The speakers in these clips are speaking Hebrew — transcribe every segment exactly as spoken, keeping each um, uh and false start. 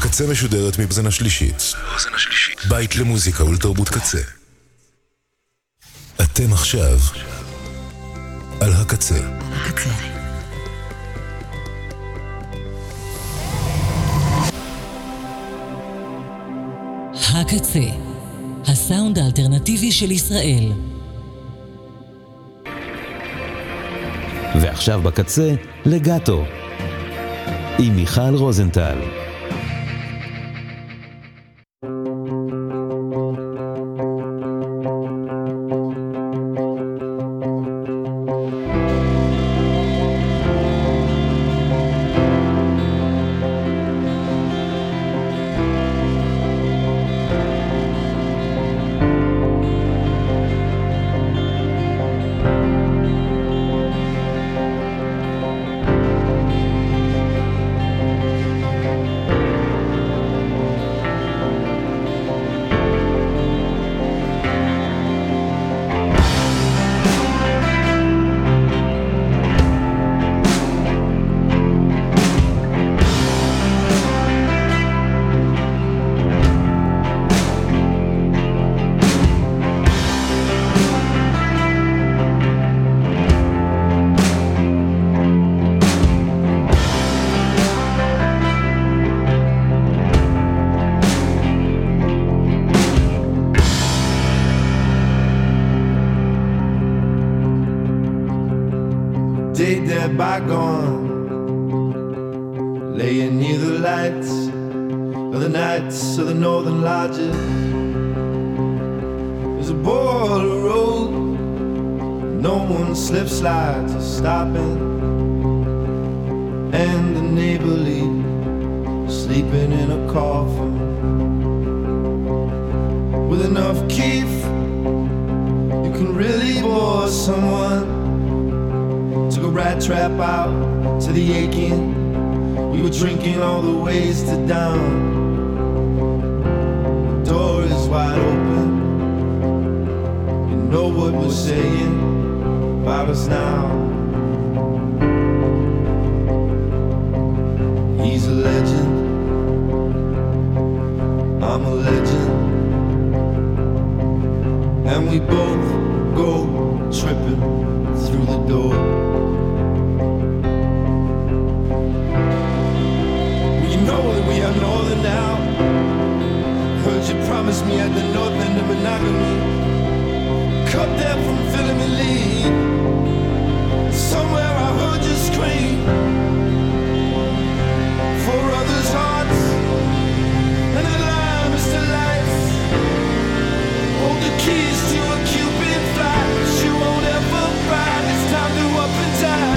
הקצה משודרת מבזן השלישית. בית למוזיקה ולתרבות קצה. אתם עכשיו על הקצה. הקצה. הקצה, הסאונד האלטרנטיבי של ישראל. ועכשיו בקצה, לגאטו, עם מיכל רוזנטל. Bygone, laying near the lights of the nights of the northern lodges. There's a border road, no one slip slides or stopping, and the neighborly sleeping in a coffin with enough keef you can really bore someone. Took a rat trap out to the aching. We were drinking all the ways to down. The door is wide open. You know what we're saying about us now. He's a legend. I'm a legend. And we both go tripping through the door. We are northern now. Heard you promised me at the north end of monogamy. Cut there from filling me lead. Somewhere I heard you scream for others' hearts. And the lamb is to life. Hold the keys to a Cuban flight. You won't ever ride. It's time to up and down.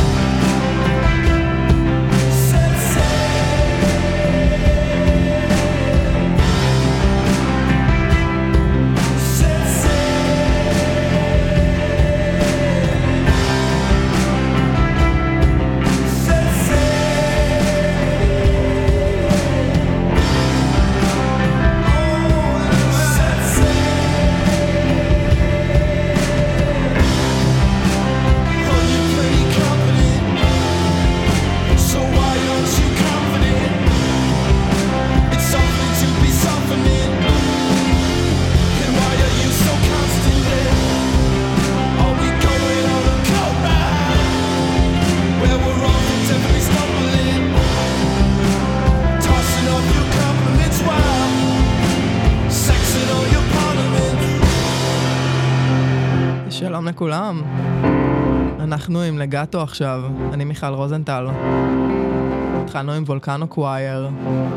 שלום לכולם, אנחנו עם לגאטו עכשיו, אני מיכל רוזנטל. התחלנו עם וולקנו קווייר.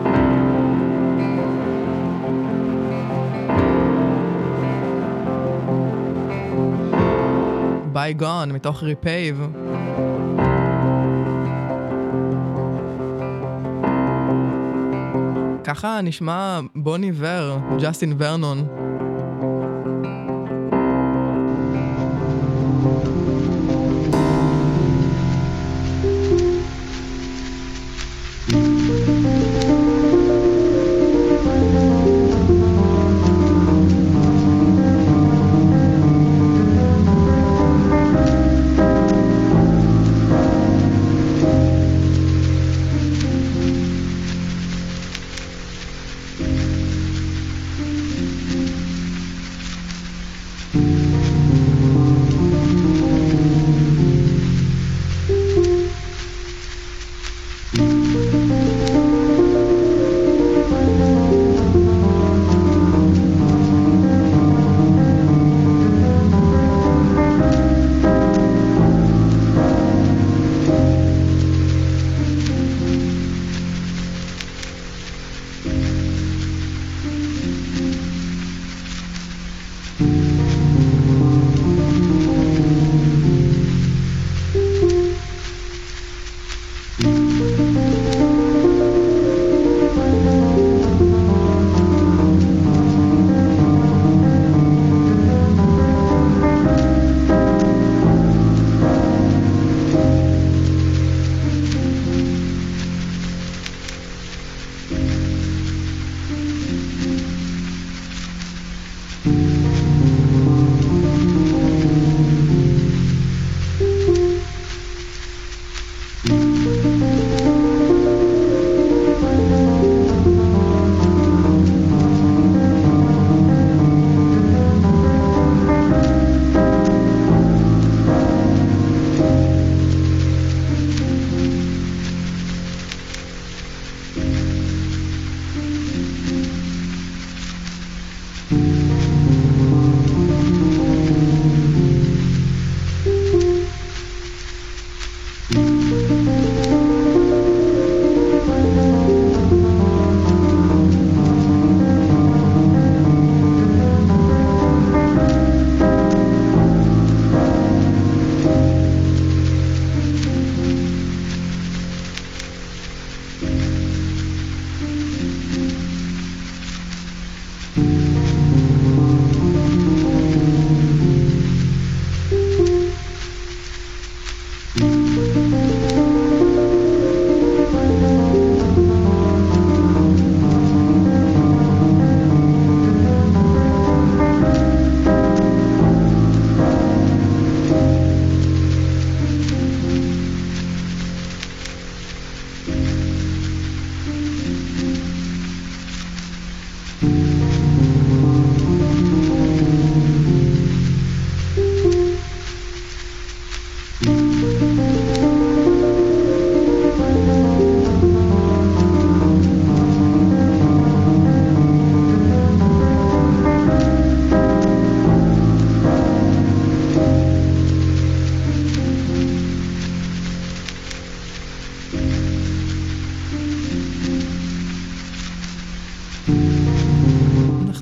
בייגון מתוך ריפייב. ככה נשמע בון איבר, ג'סטין ורנון.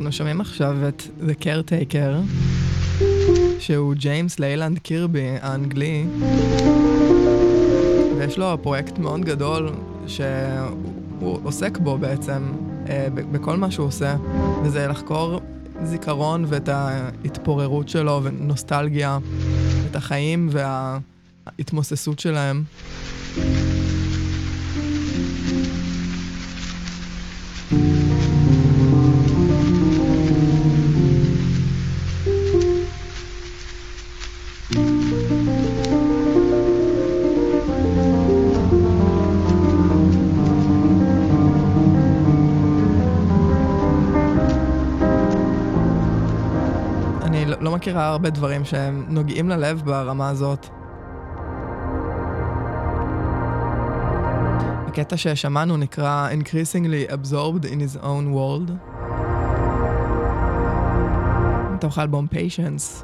אנו שומעים עכשיו את The Caretaker, שהוא ג'יימס ליילנד קירבי האנגלי, ויש לו פרויקט מאוד גדול שהוא עוסק בו בעצם, בכל מה שהוא עושה, וזה לחקור זיכרון ואת ההתפוררות שלו ונוסטלגיה, את החיים וההתמוססות שלהם. לא מכירה הרבה דברים שהם נוגעים ללב ברמה הזאת. הקטע ששמענו נקרא Increasingly Absorbed in His Own World. מתוך האלבום Patience.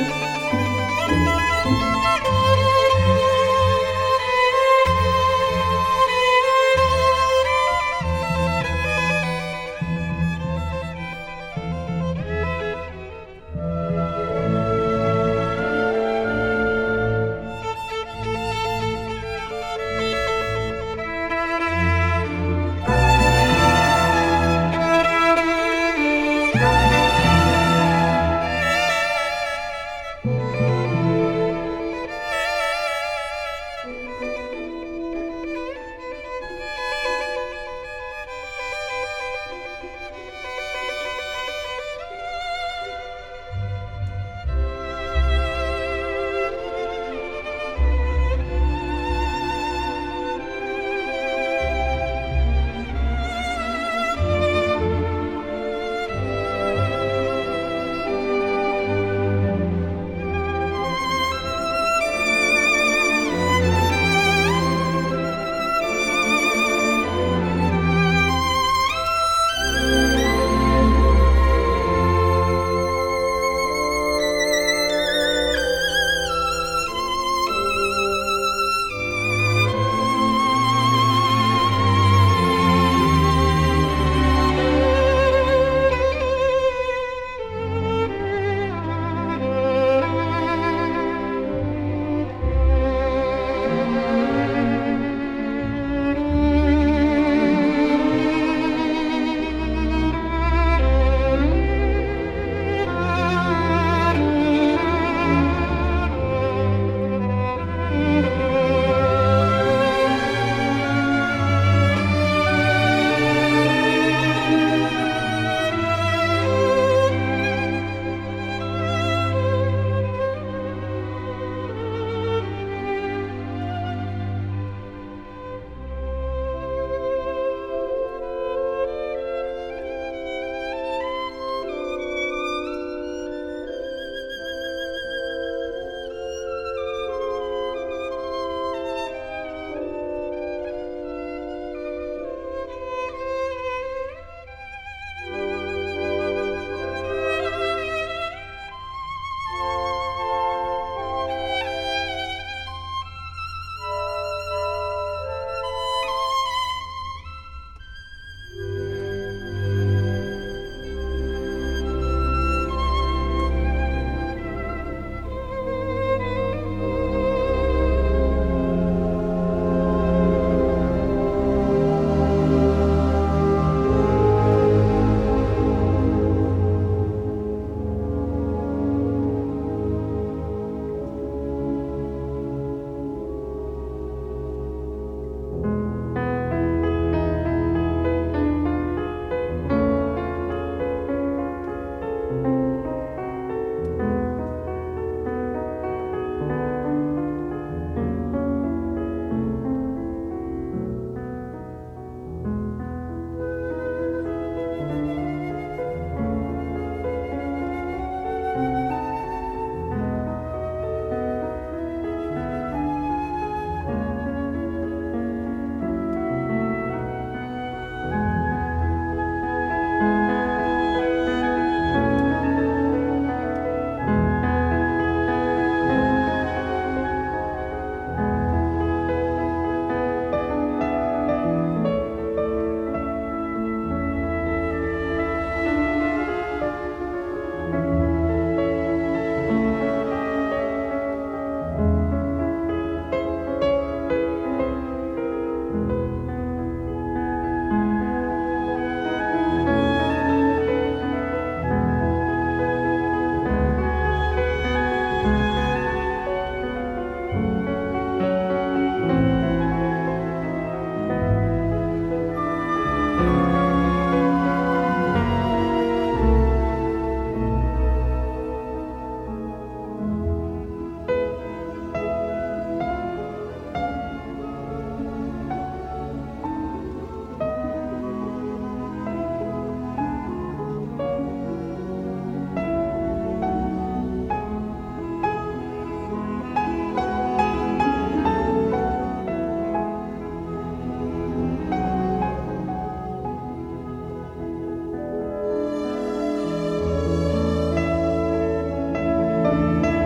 Thank you.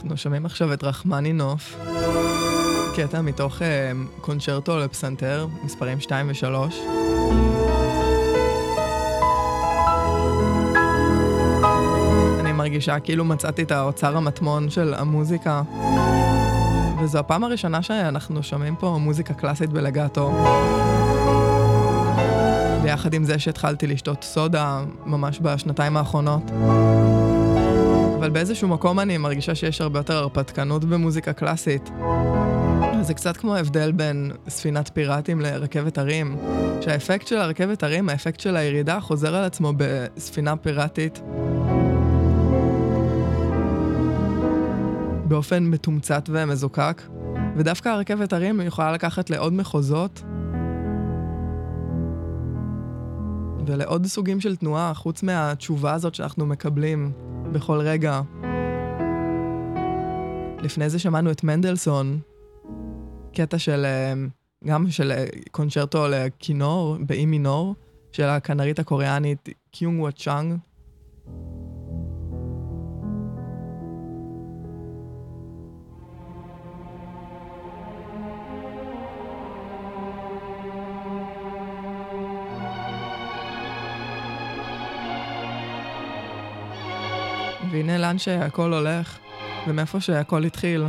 אנחנו שומעים עכשיו את רחמנינוף, קטע מתוך אה, קונצ'רטו לפסנתר, מספרים שתיים ושלוש. אני מרגישה כאילו מצאתי את האוצר המטמון של המוזיקה, וזו הפעם הראשונה שאנחנו שומעים פה מוזיקה קלאסית בלגאטו. ביחד עם זה שהתחלתי לשתות סודה ממש בשנתיים האחרונות. אבל באיזשהו מקום אני מרגישה שיש הרבה יותר הרפתקנות במוזיקה קלאסית. זה קצת כמו ההבדל בין ספינת פיראטים לרכבת הרים, שהאפקט של הרכבת הרים, האפקט של הירידה, חוזר על עצמו בספינה פיראטית באופן מתומצת ומזוקק, ודווקא הרכבת הרים יכולה לקחת לעוד מחוזות ולעוד סוגים של תנועה, חוץ מהתשובה הזאת שאנחנו מקבלים בכל רגע. לפני זה שמענו את מנדלסון, קטע של, גם של קונצ'רטו לכינור, באי מינור, של הכנרית הקוריאנית קיונג וואט צ'אנג. והנה לאן שהכל הולך, ומאיפה שהכל התחיל.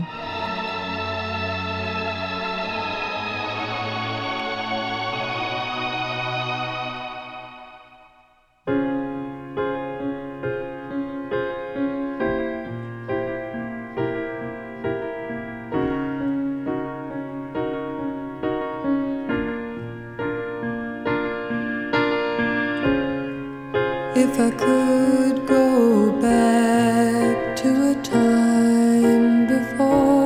If I could go back to a time before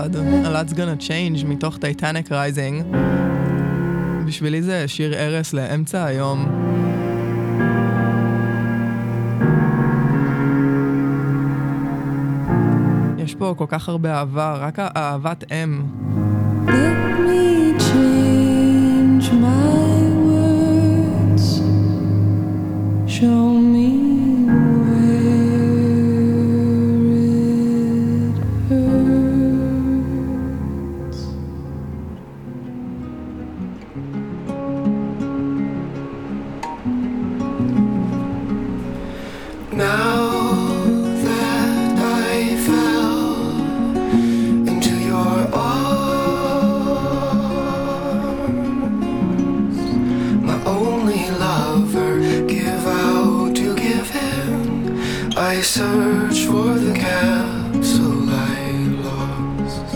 God, a lot's gonna change מתוך Titanic Rising. בשבילי זה שיר ערס לאמצע היום. יש פה כל כך הרבה אהבה, רק אהבת אם. Let me change my words. Show me I search for the capsule I lost.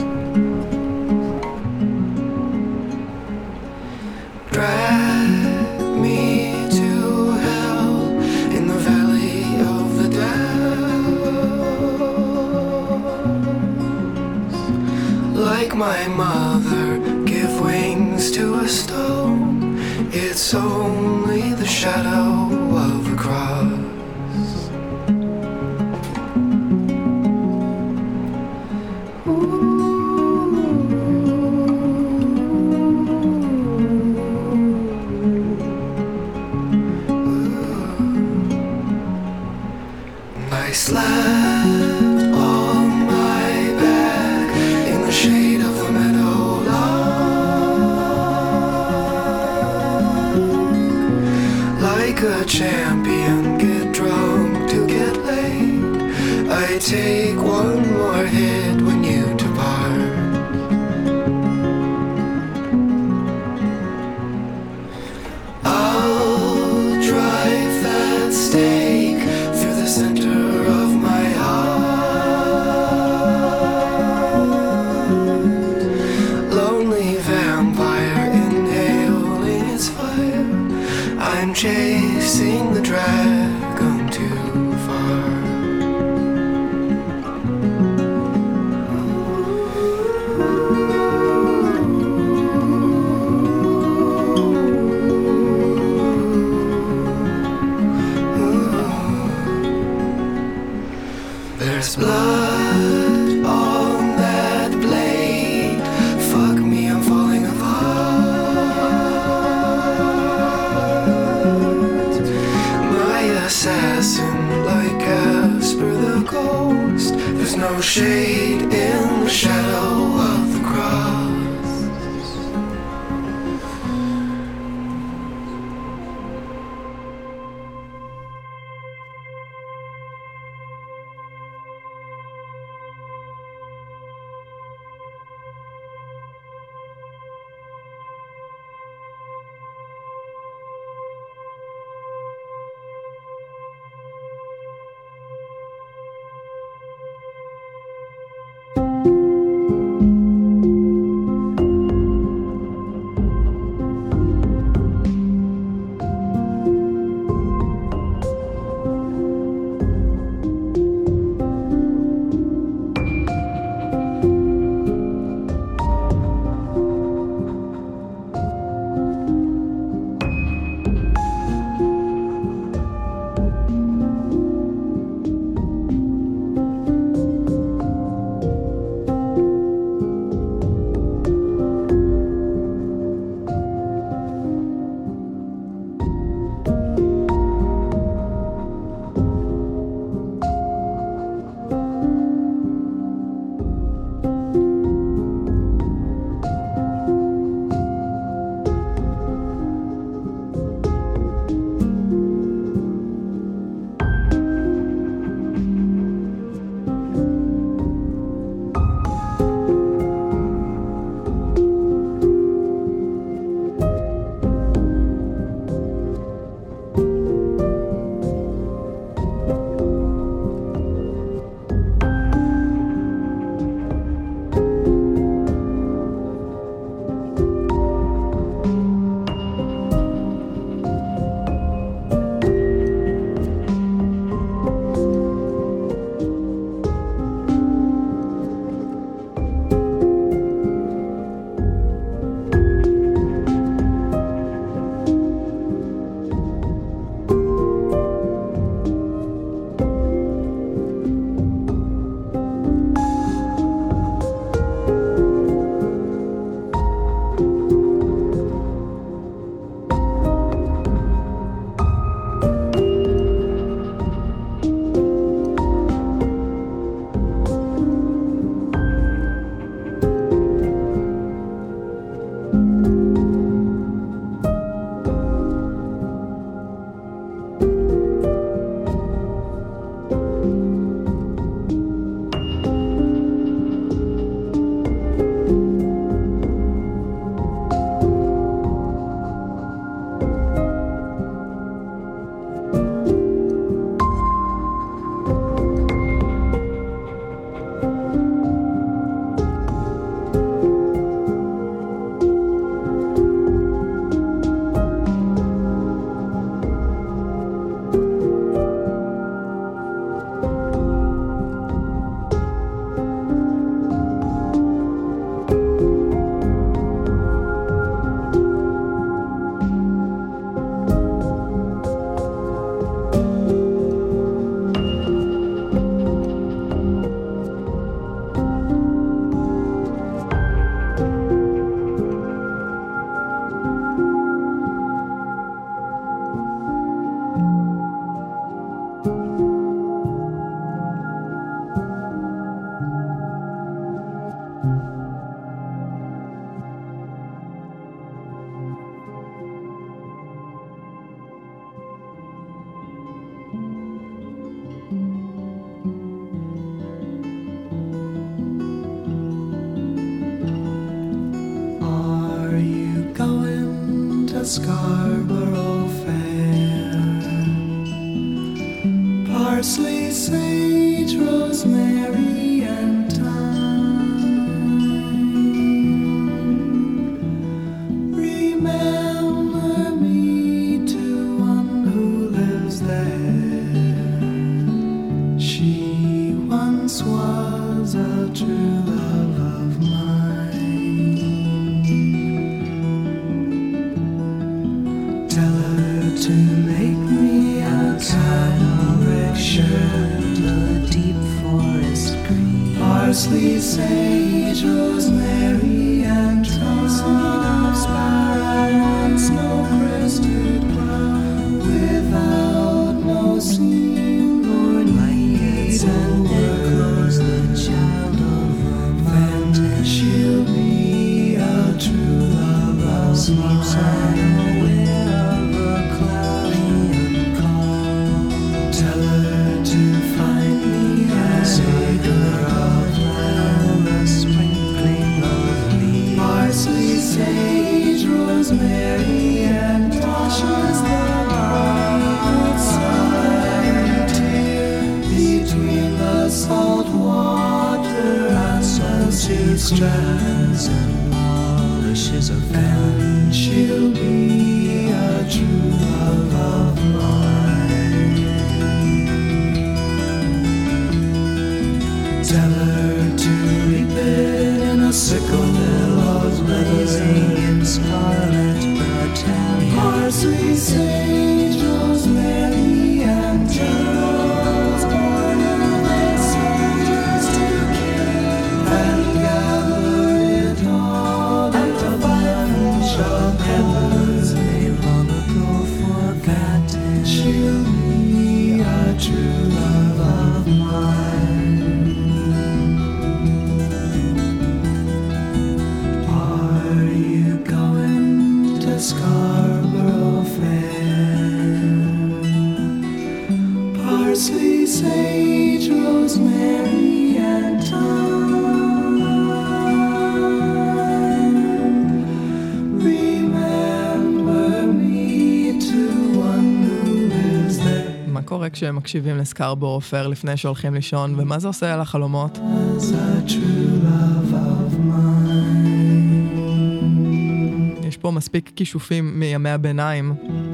Drag me to hell in the valley of the depths. Like my mother, give wings to a stone. It's only the shadow of a cross. I slept on my back in the shade of the meadowlark. Like a champion, get drunk to get laid. I take one more hit when you depart. I'll drive that stake through the center of my heart. Lonely vampire inhaling its fire. I'm chasing the dragon too far. There's blood on that blade. Fuck me, I'm falling apart. My assassin, like Casper the ghost. There's no shade in the shadow of the cross. Scarborough Fair. Parsley, sage, rosemary, and thyme. Remember me to one who lives there. She once was a true love of mine. Tell her to make me a cambric shirt, a deep forest green, parsley, sage, rosemary, and thyme, sparrow and snow-crested cloud, without no seam nor needs and echoes the child of romance. She'll be a true love of mine. Sage, rosemary, and Tasha's the bright side between the salt water and salty strands and polishes of fan. She'll be a true love of mine. Tell her to reap it in a sickle billows blazing in scarlet battalion. Parsley, sage, rosemary, and thyme, born of the soldiers to kill, and gather it all in a bunch of peppers they long ago forgotten. She'll be a true love of mine. Scarborough Fair. Parsley, sage, rosemary, and thyme. Remember me to one who lives there. מה קורה כשהם מקשיבים לסקרבורו פייר לפני שהולכים לישון, ומה זה עושה על החלומות? As a true love of mine. יש פה מספיק כישופים מימי הביניים.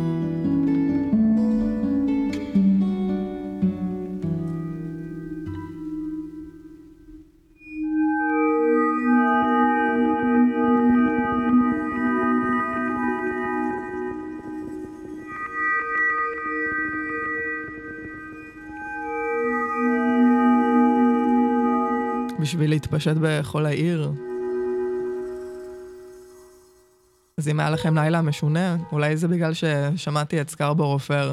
בשביל להתפשט בכל העיר. אז אם היה לכם לילה משונה, אולי זה בגלל ששמעתי את סקרבורו פייר.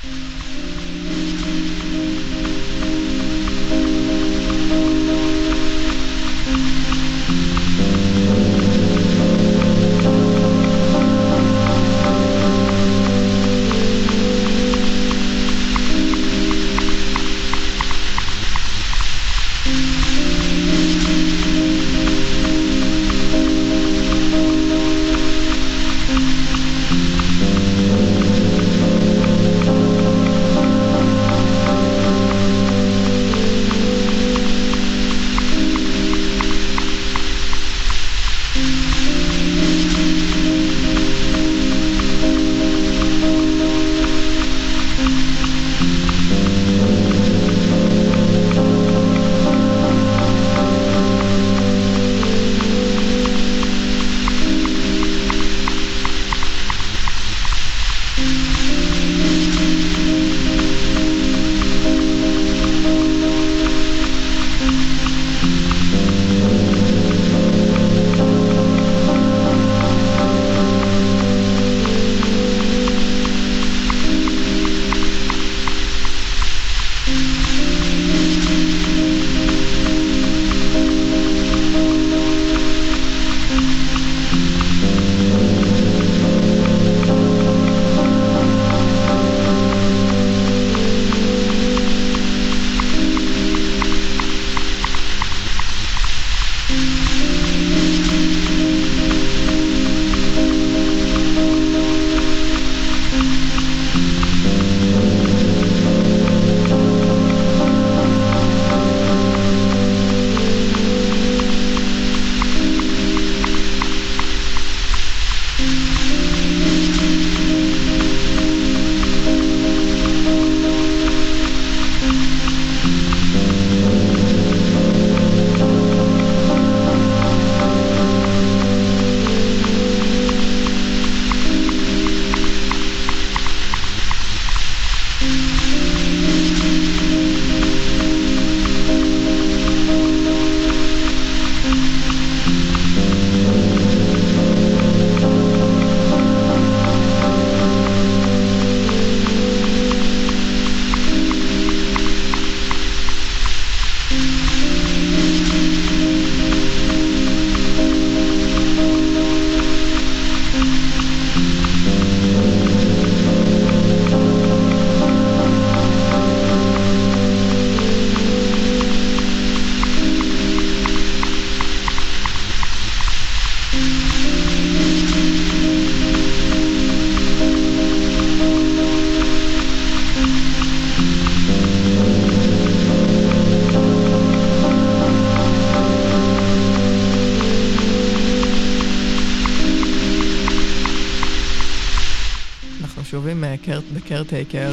שובים בקרטייקר.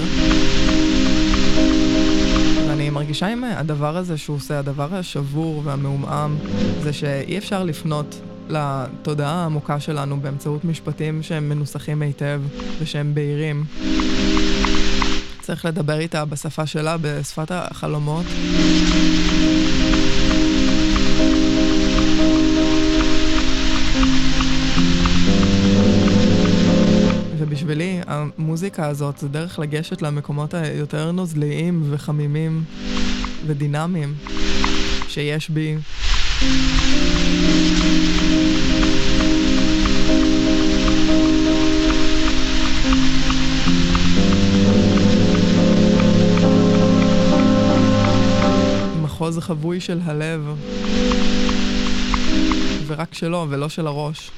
ואני מרגישה עם הדבר הזה שהוא עושה, הדבר השבור והמעומעם, זה שאי אפשר לפנות לתודעה העמוקה שלנו באמצעות משפטים שהם מנוסחים היטב ושהם בהירים. צריך לדבר איתה בשפה שלה, בשפת החלומות. ובשבילי, המוזיקה הזאת זה דרך לגשת למקומות היותר נוזליים וחמימים ודינמיים שיש בי. מחוז חבוי של הלב, ורק שלו ולא של הראש.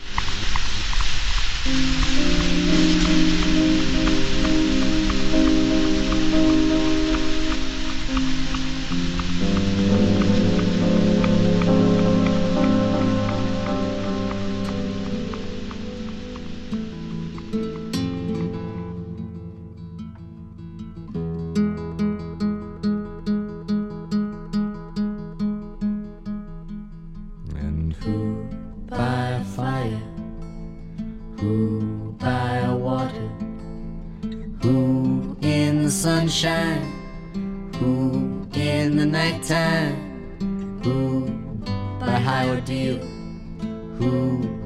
Sunshine, who in the nighttime, who by high ordeal, who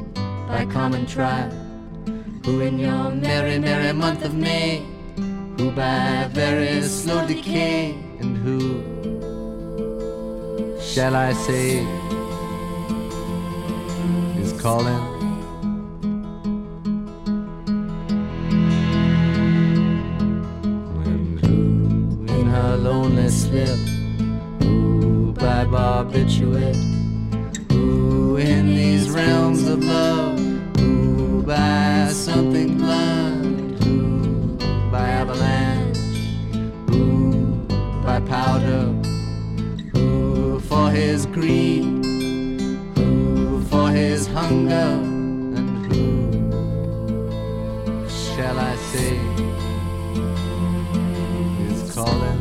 by common trial, who in your merry, merry month of May, who by very slow decay, and who shall I say is calling? And who in her lonely slip, who by barbiturate, who in these realms of love, who by something blunt, who by avalanche, who by powder, who for his greed, who for his hunger, and who shall I say is calling?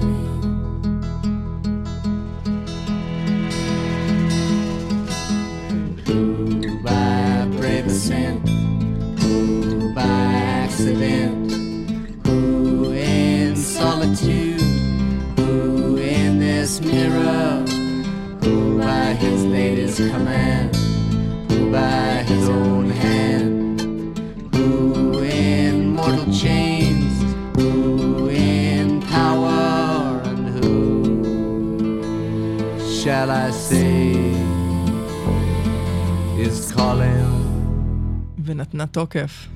And who by brave ascent, who by accident, who in solitude, who in this mirror, who by his latest command, who by his own hand, who in mortal chains, who in power, and who shall I say is calling? ונתנה תוקף.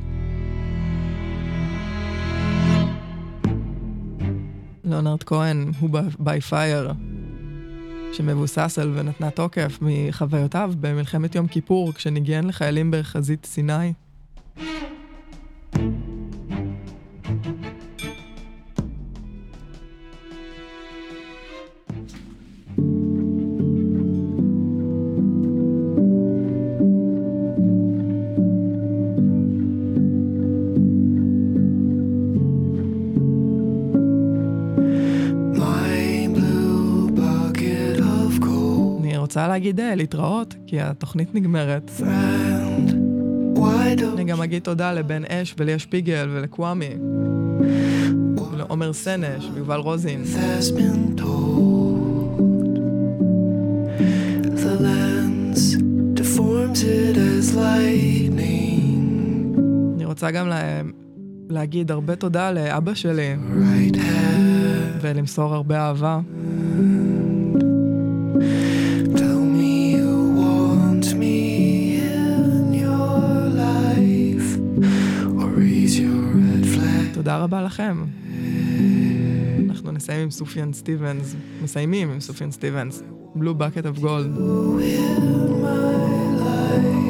ליאונרד כהן הוא ביי פייר, שמבוסס על ונתנה תוקף מחוויותיו במלחמת יום כיפור, כשניגן לחיילים בחזית סיני. רוצה להגיד להתראות, כי התוכנית נגמרת. אני גם אגיד תודה לבן אש וליה שפיגל ולקוואמי ולעומר סנש ויובל רוזין. אני רוצה גם לה... להגיד הרבה תודה לאבא שלי ולמסור הרבה אהבה. תודה רבה לכם. אנחנו נסיים עם סופיאן סטיבנס, מסיימים עם סופיאן סטיבנס, Blue Bucket of Gold.